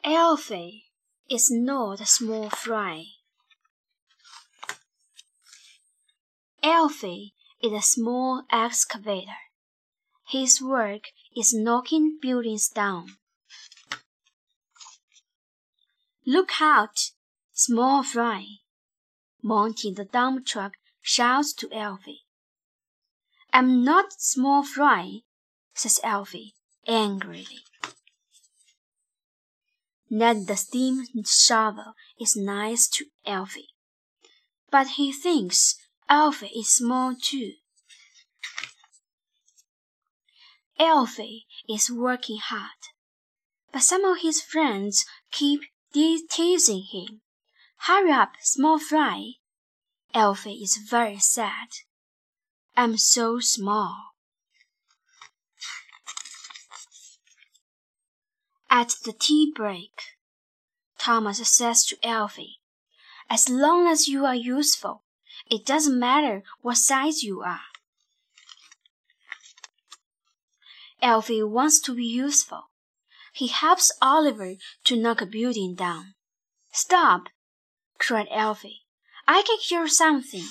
Alfie is not a small fry. Alfie is a small excavator. His work is knocking buildings down. Look out, small fry! Monty the dump truck shouts to Alfie. I'm not small fry, says Alfie angrily. Ned the steam shovel is nice to Alfie, but he thinks Alfie is small too. Alfie is working hard, but some of his friends keep teasing him. Hurry up, small fry! Alfie is very sad. I'm so small. At the tea break, Thomas says to Alfie, as long as you are useful, it doesn't matter what size you are. Alfie wants to be useful. He helps Oliver to knock a building down. Stop! Cried Alfie. I can hear something.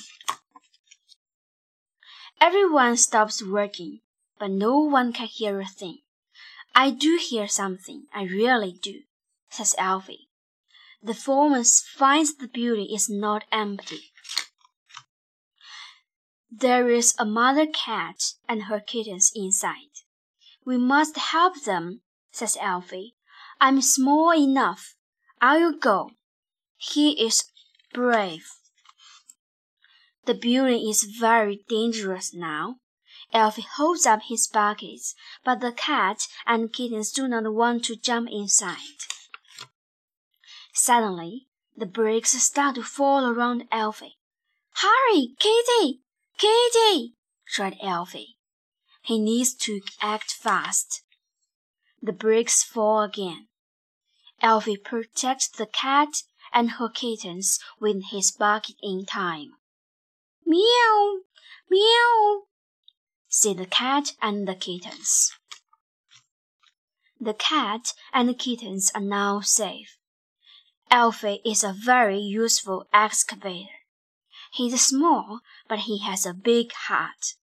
Everyone stops working, but no one can hear a thing. I do hear something, I really do, says Alfie. The foreman finds the building is not empty. There is a mother cat and her kittens inside. We must help them, says Alfie. I'm small enough. I'll go. He is brave. The building is very dangerous now. Alfie holds up his buckets, but the cat and kittens do not want to jump inside. Suddenly, the bricks start to fall around Alfie. Hurry, Kitty! Kitty! Cried Alfie. He needs to act fast. The bricks fall again. Alfie protects the cat and her kittens with his bucket in time. Meow! Meow! Said the cat and the kittens. The cat and the kittens are now safe. Alfie is a very useful excavator. He's small, but he has a big heart.